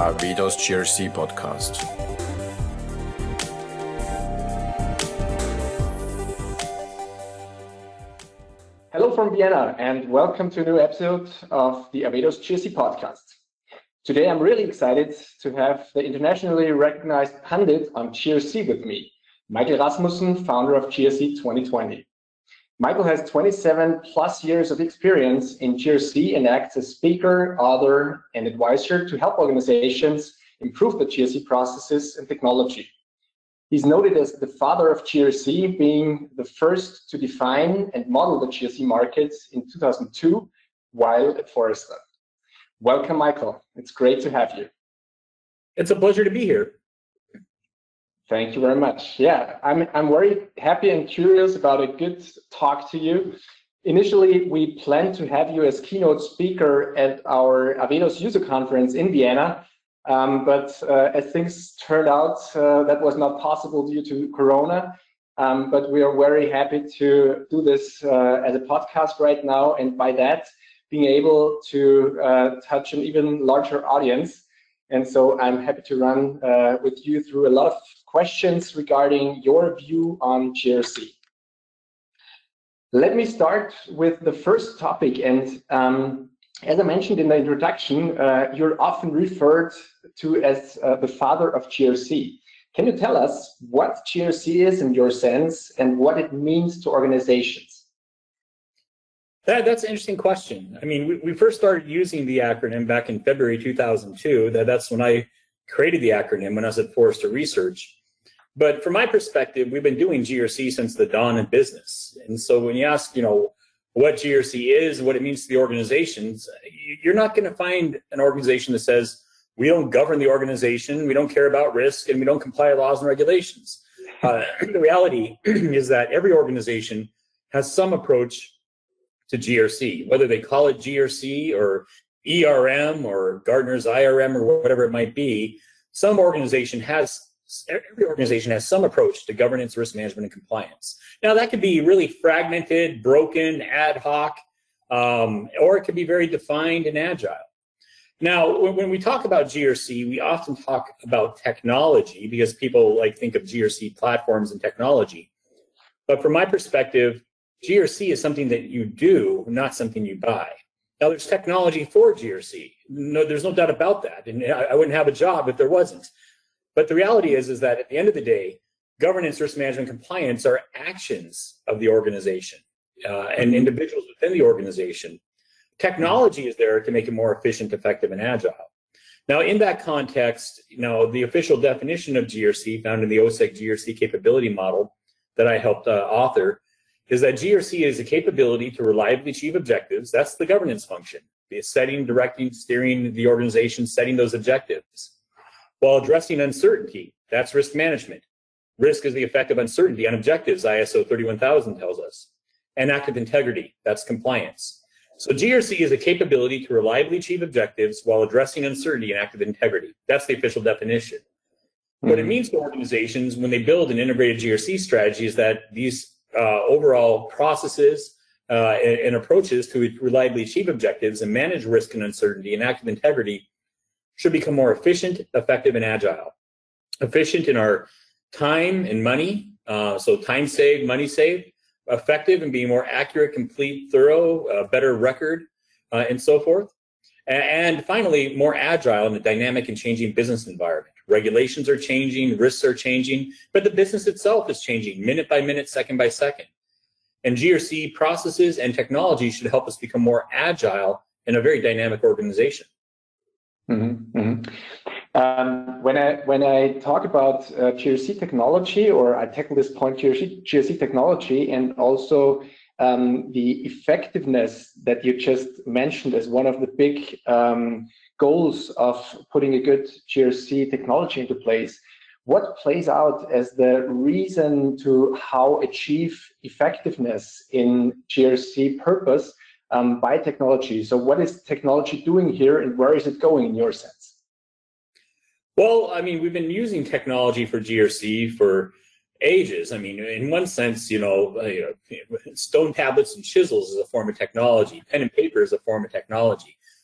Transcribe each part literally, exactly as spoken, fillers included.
Arvedos G R C podcast. Hello from Vienna and welcome to a new episode of the Arvedos G R C podcast. Today I'm really excited to have the internationally recognized pundit on G R C with me, Michael Rasmussen, founder of G R C twenty twenty. Michael has twenty-seven plus years of experience in G R C and acts as speaker, author, and advisor to help organizations improve the G R C processes and technology. He's noted as the father of G R C, being the first to define and model the G R C markets in two thousand two while at Forrester. Welcome, Michael. It's great to have you. It's a pleasure to be here. Thank you very much. Yeah, I'm, I'm very happy and curious about a good talk to you. Initially, we planned to have you as keynote speaker at our Arvedos user conference in Vienna, um, but uh, as things turned out, uh, that was not possible due to Corona. Um, but we are very happy to do this uh, as a podcast right now, and by that, being able to uh, touch an even larger audience. And so I'm happy to run uh, with you through a lot of questions regarding your view on G R C. Let me start with the first topic. And um, as I mentioned in the introduction, uh, you're often referred to as uh, the father of G R C. Can you tell us what G R C is in your sense and what it means to organizations? That, that's an interesting question. I mean, we, we first started using the acronym back in February two thousand two. That, that's when I created the acronym when I was at Forrester Research. But from my perspective, we've been doing G R C since the dawn of business. And so when you ask, you know, what G R C is, what it means to the organizations, you're not going to find an organization that says, we don't govern the organization, we don't care about risk, and we don't comply with laws and regulations. Uh, the reality is that every organization has some approach to G R C, whether they call it G R C or E R M or Gartner's I R M or whatever it might be. Some organization has, every organization has some approach to governance, risk management, and compliance. Now that could be really fragmented, broken, ad hoc, um, or it could be very defined and agile. Now, when, when we talk about G R C, we often talk about technology because people like think of G R C platforms and technology. But from my perspective, G R C is something that you do, not something you buy. Now, there's technology for G R C. No, there's no doubt about that. And I, I wouldn't have a job if there wasn't. But the reality is, is that at the end of the day, governance, risk management, compliance are actions of the organization uh, and individuals within the organization. Technology is there to make it more efficient, effective, and agile. Now, in that context, you know, the official definition of G R C found in the O S E C G R C capability model that I helped uh, author is that G R C is a capability to reliably achieve objectives. That's the governance function, the setting, directing, steering the organization, setting those objectives, while addressing uncertainty. That's risk management. Risk is the effect of uncertainty on objectives, I S O thirty-one thousand tells us. And active integrity, that's compliance. So G R C is a capability to reliably achieve objectives while addressing uncertainty and active integrity. That's the official definition. Mm-hmm. What it means to organizations when they build an integrated G R C strategy is that these Uh, overall processes uh, and, and approaches to reliably achieve objectives and manage risk and uncertainty and active integrity should become more efficient, effective, and agile. Efficient in our time and money, uh, so time saved, money saved. Effective in being more accurate, complete, thorough, uh, better record, uh, and so forth. And finally, more agile in a dynamic and changing business environment. Regulations are changing, risks are changing, but the business itself is changing minute by minute, second by second. And G R C processes and technology should help us become more agile in a very dynamic organization. Mm-hmm, mm-hmm. Um, when I when I talk about uh, G R C technology, or I tackle this point, G R C, G R C technology, and also um, the effectiveness that you just mentioned as one of the big um, goals of putting a good G R C technology into place, what plays out as the reason to how achieve effectiveness in G R C purpose um, by technology? So what is technology doing here and where is it going in your sense? Well, I mean, we've been using technology for G R C for ages. I mean, in one sense, you know, stone tablets and chisels is a form of technology. Pen and paper is a form of technology.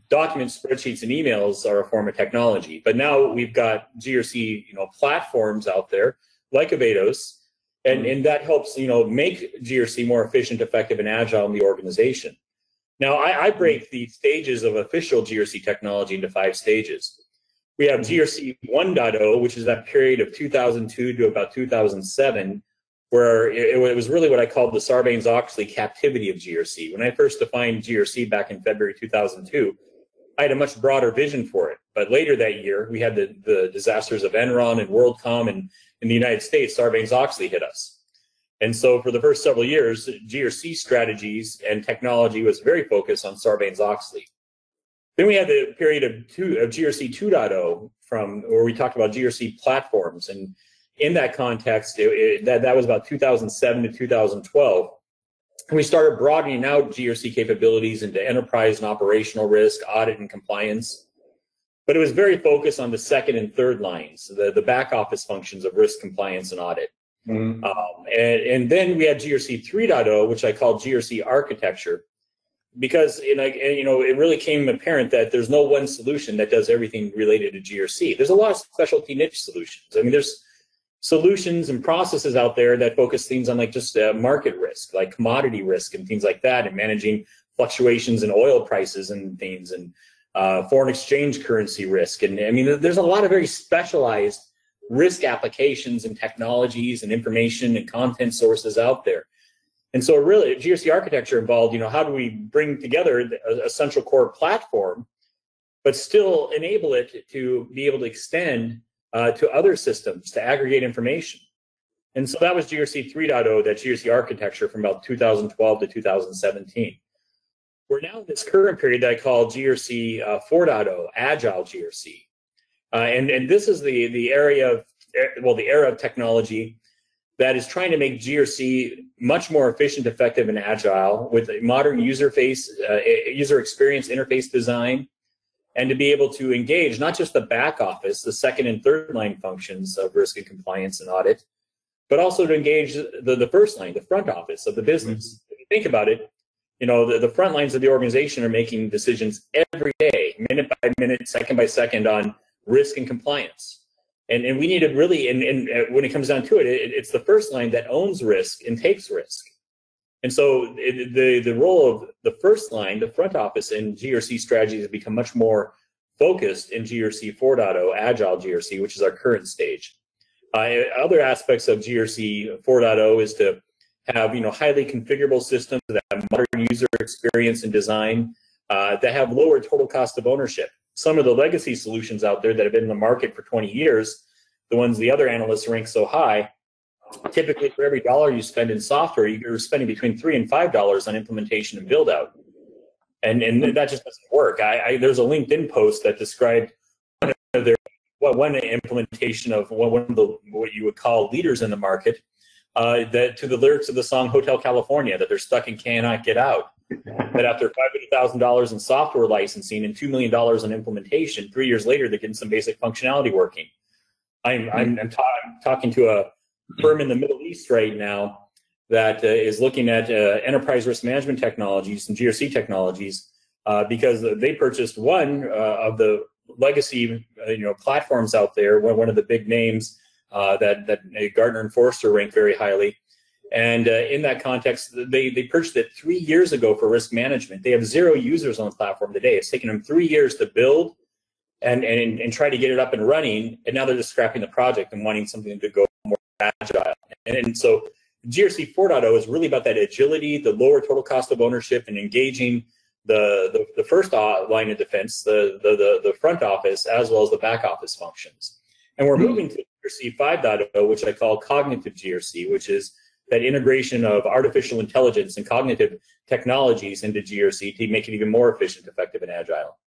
documents, spreadsheets, and emails are a form of technology. But now we've got G R C, you know, platforms out there like Avados, and, and that helps, you know, make G R C more efficient, effective, and agile in the organization. Now, I, I break the stages of official G R C technology into five stages. We have G R C one point oh, which is that period of two thousand two to about two thousand seven, where it, it was really what I called the Sarbanes-Oxley captivity of G R C. When I first defined G R C back in February two thousand two, I had a much broader vision for it. But later that year, we had the, the disasters of Enron and WorldCom, and in the United States, Sarbanes-Oxley hit us. And so for the first several years, G R C strategies and technology was very focused on Sarbanes-Oxley. Then we had the period of, two, of G R C two point oh, from where we talked about G R C platforms. And in that context, it, it, that, that was about two thousand seven to two thousand twelve. And we started broadening out G R C capabilities into enterprise and operational risk, audit, and compliance. But it was very focused on the second and third lines, the, the back office functions of risk, compliance, and audit. Mm-hmm. um, and, and then we had G R C three point oh, which I call G R C architecture, because you know, you know, it really came apparent that there's no one solution that does everything related to G R C. There's a lot of specialty niche solutions. I mean, there's solutions and processes out there that focus things on like just uh, market risk, like commodity risk and things like that, and managing fluctuations in oil prices and things, and uh, foreign exchange currency risk. And I mean, there's a lot of very specialized risk applications and technologies and information and content sources out there. And so really G R C architecture involved, you know, how do we bring together a, a central core platform, but still enable it to be able to extend uh, to other systems to aggregate information. And so that was G R C three point oh, that G R C architecture from about two thousand twelve to two thousand seventeen. We're now in this current period that I call G R C uh, four point oh, Agile G R C. Uh, and, and this is the, the area of, well, the era of technology that is trying to make G R C much more efficient, effective, and agile with a modern user face, uh, user experience interface design, and to be able to engage not just the back office, the second and third line functions of risk and compliance and audit, but also to engage the, the first line, the front office of the business. Mm-hmm. If you think about it, you know, the, the front lines of the organization are making decisions every day, minute by minute, second by second on risk and compliance. And, and we need to really, and, and when it comes down to it, it, it's the first line that owns risk and takes risk. And so it, the, the role of the first line, the front office in G R C strategies has become much more focused in G R C four point oh, Agile G R C, which is our current stage. Uh, other aspects of G R C four point oh is to have, you know, highly configurable systems that have modern user experience and design, uh, that have lower total cost of ownership. Some of the legacy solutions out there that have been in the market for twenty years, the ones the other analysts rank so high, typically for every dollar you spend in software, you're spending between three and five dollars on implementation and build out. And, and that just doesn't work. I, I, there's a LinkedIn post that described one of their, well, one implementation of one of the, what you would call leaders in the market, uh, that to the lyrics of the song Hotel California, that they're stuck and cannot get out. That after five hundred thousand dollars in software licensing and two million dollars in implementation, three years later, they're getting some basic functionality working. I'm, I'm, I'm, ta I'm talking to a firm in the Middle East right now that uh, is looking at uh, enterprise risk management technologies and G R C technologies uh, because they purchased one uh, of the legacy uh, you know, platforms out there, one, one of the big names uh, that, that Gartner and Forrester rank very highly. And uh, in that context, they, they purchased it three years ago for risk management. They have zero users on the platform today. It's taken them three years to build and, and, and try to get it up and running. And now they're just scrapping the project and wanting something to go more agile. And, and so G R C four point oh is really about that agility, the lower total cost of ownership, and engaging the, the, the first line of defense, the, the, the, the front office, as well as the back office functions. And we're moving to G R C five point oh, which I call cognitive G R C, which is that integration of artificial intelligence and cognitive technologies into G R C to make it even more efficient, effective, and agile.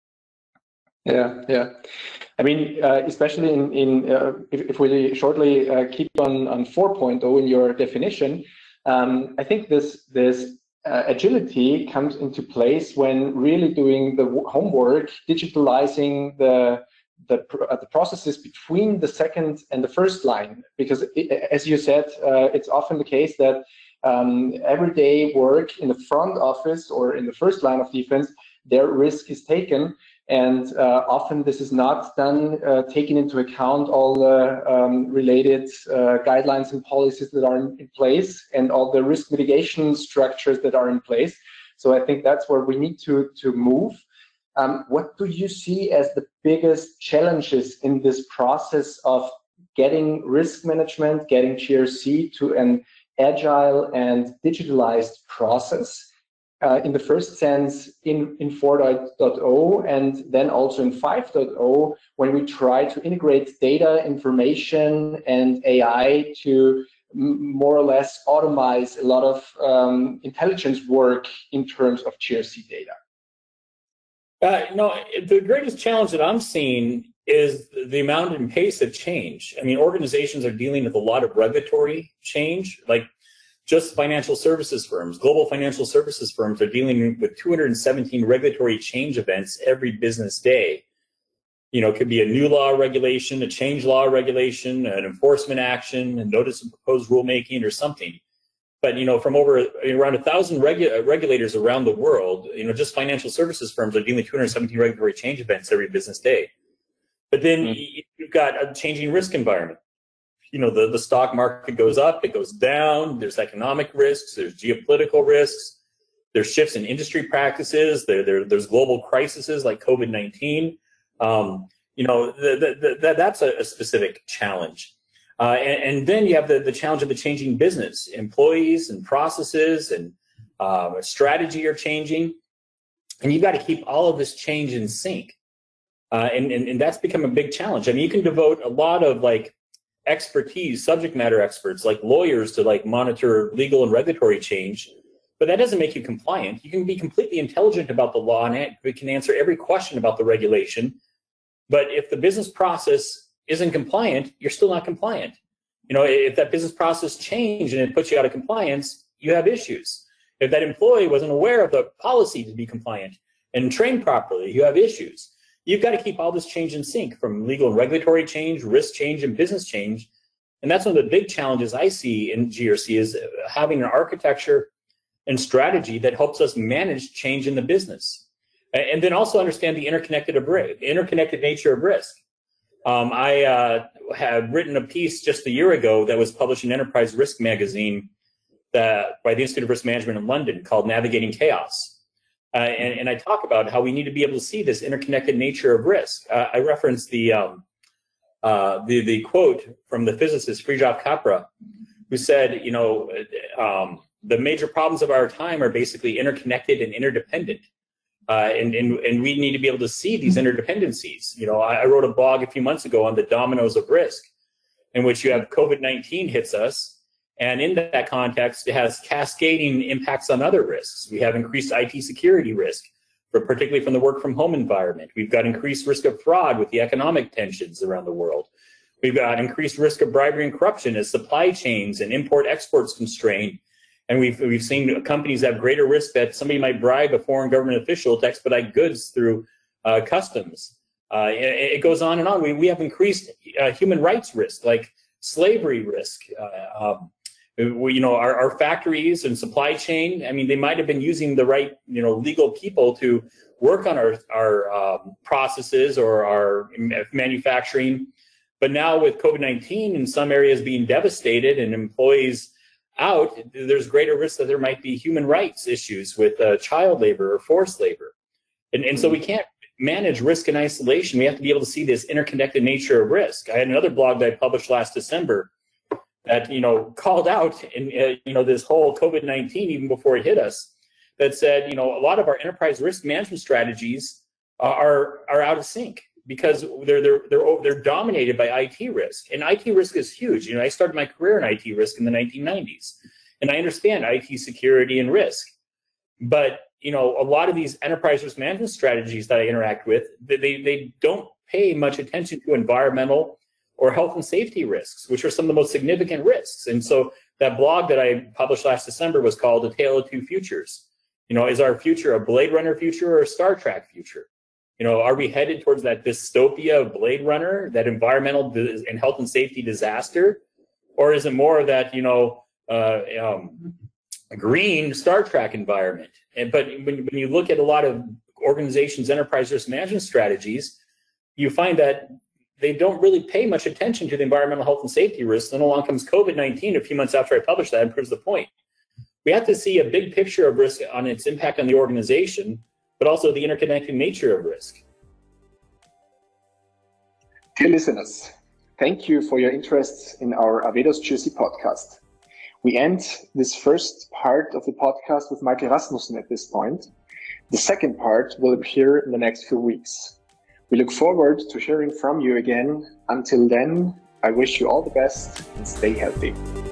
Yeah, yeah. I mean, uh, especially in, in uh, if, if we shortly uh, keep on, on four point oh in your definition, um, I think this, this uh, agility comes into place when really doing the homework, digitalizing the The, uh, the processes between the second and the first line, because it, as you said, uh, it's often the case that um, everyday work in the front office or in the first line of defense their risk is taken. And uh, often this is not done, uh, taking into account all the um, related uh, guidelines and policies that are in, in place and all the risk mitigation structures that are in place. So I think that's where we need to, to move. Um, what do you see as the biggest challenges in this process of getting risk management, getting G R C to an agile and digitalized process? Uh, in the first sense in, in four point oh and then also in five point oh, when we try to integrate data, information, and A I to m more or less automate a lot of um, intelligence work in terms of G R C data? Uh, no, the greatest challenge that I'm seeing is the amount and pace of change. I mean, organizations are dealing with a lot of regulatory change, like just financial services firms, global financial services firms are dealing with two hundred seventeen regulatory change events every business day. You know, it could be a new law regulation, a change law regulation, an enforcement action, a notice of proposed rulemaking or something. But, you know, from over around a thousand regu regulators around the world, you know, just financial services firms are dealing with two hundred seventeen regulatory change events every business day. But then mm-hmm. you've got a changing risk environment. You know, the, the stock market goes up, it goes down, there's economic risks, there's geopolitical risks, there's shifts in industry practices, there, there, there's global crises like COVID nineteen. Um, you know, the, the, the, that's a, a specific challenge. Uh, and, and then you have the, the challenge of the changing business. Employees and processes and uh, strategy are changing. And you've got to keep all of this change in sync. Uh, and, and, and that's become a big challenge. I mean, you can devote a lot of like expertise, subject matter experts like lawyers to like monitor legal and regulatory change, but that doesn't make you compliant. You can be completely intelligent about the law and it can answer every question about the regulation. But if the business process isn't compliant, you're still not compliant. You know, if that business process changed and it puts you out of compliance, you have issues. If that employee wasn't aware of the policy to be compliant and trained properly, you have issues. You've got to keep all this change in sync, from legal and regulatory change, risk change, and business change. And that's one of the big challenges I see in G R C, is having an architecture and strategy that helps us manage change in the business. And then also understand the interconnected, of risk, interconnected nature of risk. Um, I uh, had written a piece just a year ago that was published in Enterprise Risk Magazine that, by the Institute of Risk Management in London, called Navigating Chaos. Uh, and, and I talk about how we need to be able to see this interconnected nature of risk. Uh, I reference the, um, uh, the the quote from the physicist Fritjof Capra, who said, you know, um, the major problems of our time are basically interconnected and interdependent. Uh, and, and, and we need to be able to see these interdependencies. You know, I, I wrote a blog a few months ago on the dominoes of risk, in which you have COVID nineteen hits us. And in that context, it has cascading impacts on other risks. We have increased I T security risk, but particularly from the work from home environment. We've got increased risk of fraud with the economic tensions around the world. We've got increased risk of bribery and corruption as supply chains and import exports constrain. And we've, we've seen companies have greater risk that somebody might bribe a foreign government official to expedite goods through uh, customs. Uh, it, it goes on and on. We, we have increased uh, human rights risk, like slavery risk. Uh, um, we, you know, our, our factories and supply chain, I mean, they might have been using the right, you know, legal people to work on our, our um, processes or our manufacturing. But now with COVID nineteen in some areas being devastated and employees out, there's greater risk that there might be human rights issues with uh, child labor or forced labor. And, and so we can't manage risk in isolation. We have to be able to see this interconnected nature of risk. I had another blog that I published last December that, you know, called out in, uh, you know, this whole COVID nineteen, even before it hit us, that said, you know, a lot of our enterprise risk management strategies are, are out of sync, because they're, they're, they're, they're dominated by I T risk. And I T risk is huge. You know, I started my career in I T risk in the nineteen nineties, and I understand I T security and risk. But, you know, a lot of these enterprise risk management strategies that I interact with, they, they don't pay much attention to environmental or health and safety risks, which are some of the most significant risks. And so that blog that I published last December was called A Tale of Two Futures. You know, is our future a Blade Runner future or a Star Trek future? You know, are we headed towards that dystopia of Blade Runner, that environmental and health and safety disaster? Or is it more of that, you know, uh, um, green Star Trek environment? And, but when, when you look at a lot of organizations' enterprise risk management strategies, you find that they don't really pay much attention to the environmental health and safety risks. Then along comes COVID nineteen a few months after I published that and proves the point. We have to see a big picture of risk on its impact on the organization, but also the interconnected nature of risk. Dear listeners, thank you for your interest in our Avedos G R C podcast. We end this first part of the podcast with Michael Rasmussen at this point. The second part will appear in the next few weeks. We look forward to hearing from you again. Until then, I wish you all the best and stay healthy.